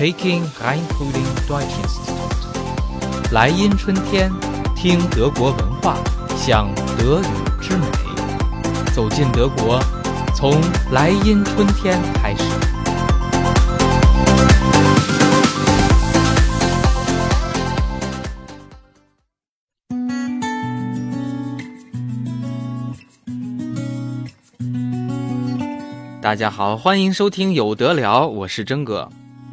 Peking Rheinfrühling Deutschinstitut。来阴春天，听德国文化，享德语之美。走进德国，从来阴春天开始。大家好，欢迎收听有得聊，我是真哥。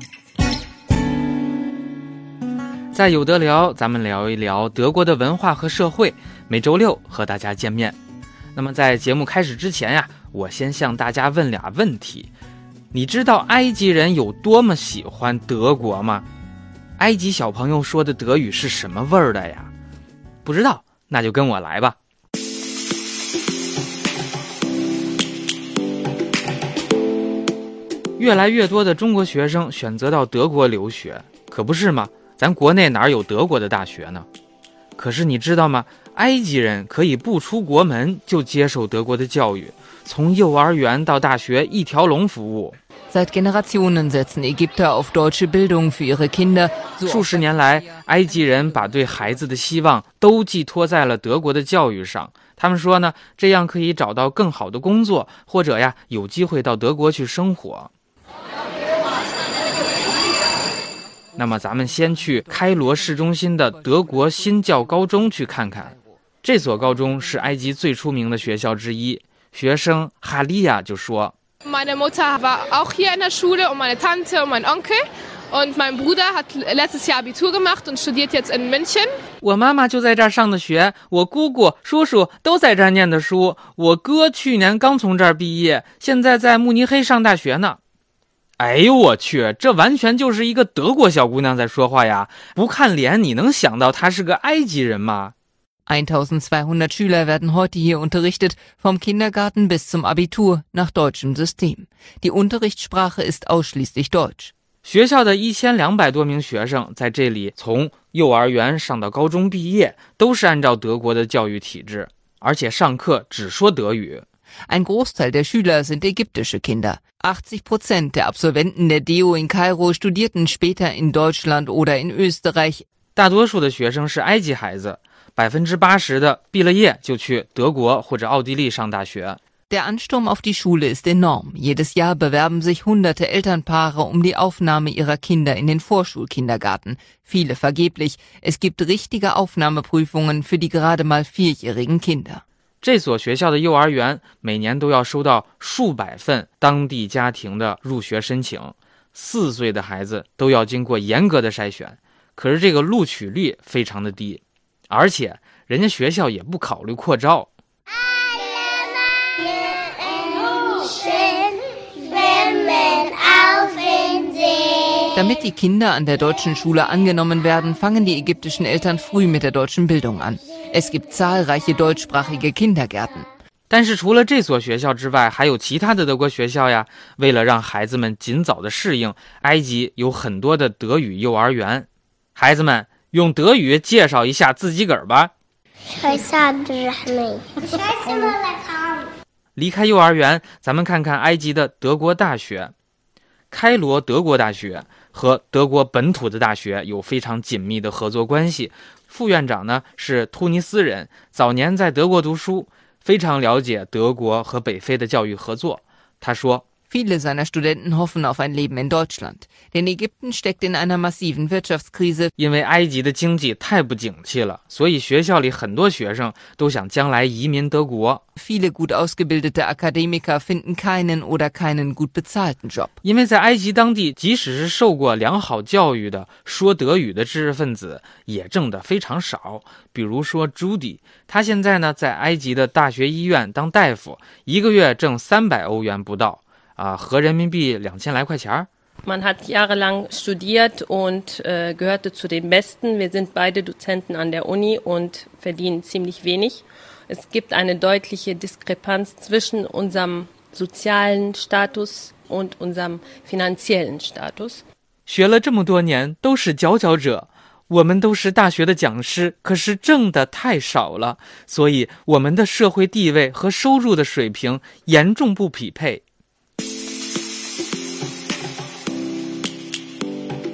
在有得聊，咱们聊一聊德国的文化和社会，每周六和大家见面。那么在节目开始之前呀，我先向大家问俩问题。你知道埃及人有多么喜欢德国吗？埃及小朋友说的德语是什么味儿的呀？不知道，那就跟我来吧。越来越多的中国学生选择到德国留学，可不是吗？咱国内哪有德国的大学呢？可是你知道吗？埃及人可以不出国门就接受德国的教育，从幼儿园到大学一条龙服务。 Seit Generationen setzen Ägypter auf deutsche Bildung für ihre Kinder。 数十年来，埃及人把对孩子的希望都寄托在了德国的教育上。他们说呢，这样可以找到更好的工作，或者呀，有机会到德国去生活。那么咱们先去开罗市中心的德国新教高中去看看。这所高中是埃及最出名的学校之一。学生哈利亚就说 Meine Mutter war auch hier in der Schule und meine Tante und mein Onkel. Und mein Bruder hat letztes Jahr Abitur gemacht und studiert jetzt in München. 我妈妈就在这儿上的学，我姑姑、叔叔都在这儿念的书，我哥去年刚从这儿毕业，现在在慕尼黑上大学呢。哎呦我去，这完全就是一个德国小姑娘在说话呀！不看脸，你能想到她是个埃及人吗 ？1200 Schüler werden heute hier unterrichtet, vom Kindergarten bis zum Abitur nach deutschem System. Die Unterrichtssprache ist ausschließlich Deutsch. 学校的1200多名学生在这里从幼儿园上到高中毕业，都是按照德国的教育体制，而且上课只说德语。 Ein Großteil der Schüler sind ägyptische Kinder. 80% der Absolventen der DEO in Kairo studierten später in Deutschland oder in Österreich. 大多数的学生是埃及孩子，80%的毕了业就去德国或者奥地利上大学。 Der Ansturm auf die Schule ist enorm. Jedes Jahr bewerben sich hunderte Elternpaare um die Aufnahme ihrer Kinder in den Vorschulkindergarten. Viele vergeblich. Es gibt richtige Aufnahmeprüfungen für die gerade mal 4-jährigen Kinder. 这所学校的幼儿园每年都要收到数百份当地家庭的入学申请，4岁的孩子都要经过严格的筛选，可是这个录取率非常的低，而且人家学校也不考虑扩招。 Damit die Kinder an der deutschen Schule angenommen werden, fangen die ägyptischen Eltern früh mit der deutschen Bildung an. Es gibt zahlreiche deutschsprachige Kindergärten. 但是除了这所学校之外，还有其他的德国学校呀。为了让孩子们尽早的适应，埃及有很多的德语幼儿园。孩子们用德语介绍一下自己个儿吧。离开幼儿园，咱们看看埃及的德国大学。开罗德国大学和德国本土的大学有非常紧密的合作关系。副院长呢是突尼斯人，早年在德国读书，非常了解德国和北非的教育合作。他说 Viele seiner Studenten hoffen auf ein Leben in Deutschland, denn Ägypten steckt in einer massiven Wirtschaftskrise. 因为埃及的经济太不景气了，所以学校里很多学生都想将来移民德国。 Viele gut ausgebildete Akademiker finden keinen oder keinen gut bezahlten Job. 因为在埃及当地，即使是受过良好教育的说德语的知识分子，也挣得非常少。比如说 Judy， 他现在呢在埃及的大学医院当大夫，一个月挣300欧元不到。合人民币2000来块钱。 Man hat jahrelang studiert und gehörte zu den Besten. Wir sind beide Dozenten an der Uni und verdienen ziemlich wenig. Es gibt eine deutliche Diskrepanz zwischen unserem sozialen Status und unserem finanziellen Status. 学了这么多年，都是佼佼者。我们都是大学的讲师，可是挣的太少了，所以我们的社会地位和收入的水平严重不匹配。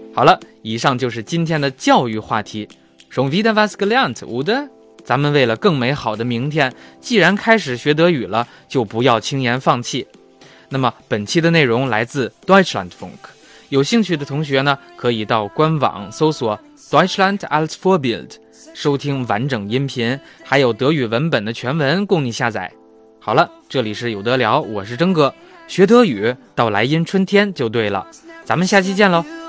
好了，以上就是今天的教育话题。Schon wieder was gelernt, oder？ 咱们为了更美好的明天，既然开始学德语了，就不要轻言放弃。那么本期的内容来自 Deutschlandfunk， 有兴趣的同学呢，可以到官网搜索 Deutschland als Vorbild， 收听完整音频，还有德语文本的全文供你下载。好了，这里是有得聊，我是征哥，学德语到来音春天就对了，咱们下期见喽。